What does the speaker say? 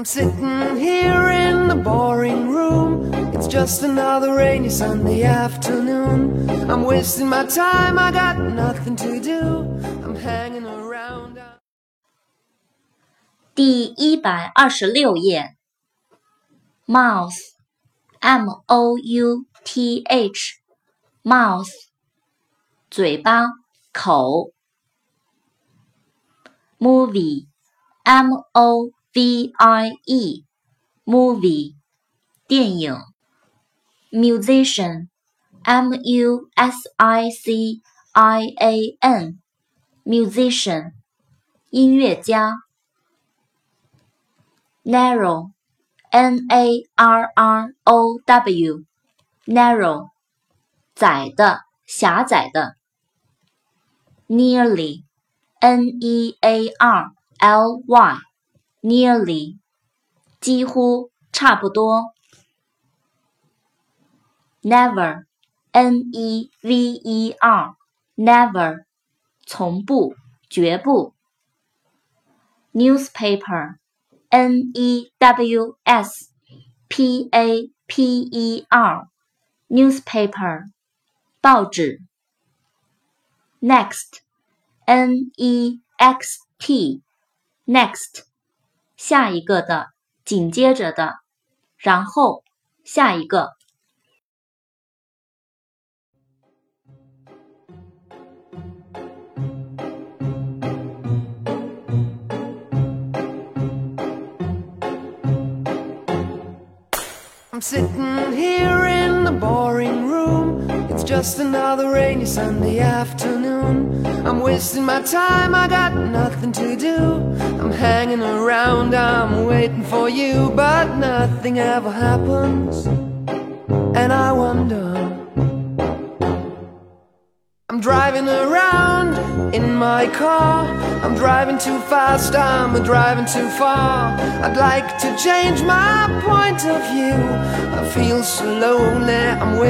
I'm sitting here in the boring room. It's just another rainy Sunday afternoon. I'm wasting my time, I got nothing to do. I'm hanging around. 第126页 Mouth M-O-U-T-H Mouth 嘴巴口 Movie M-O-V-I-E Movie 电影 Musician M-U-S-I-C-I-A-N Musician 音乐家Narrow N-A-R-R-O-W Narrow 窄的狭窄的 Nearly N-E-A-R-L-Y Nearly 几乎差不多 Never N-E-V-E-R Never 从不绝不 Newspaper N-E-W-S-P-A-P-E-R Newspaper 报纸 Next N-E-X-T Next 下一个的紧接着的然后下一个 I'm sitting here in the boring room. It's just another rainy Sunday afternoon. I'm wasting my time, I got nothing to do. I'm hanging around, I'm waiting for you, but nothing ever happens. And I wonder, I'm driving around in my car. I'm driving too fast, I'm driving too far. I'd like to change my point of view. I feel so lonely, I'm waiting.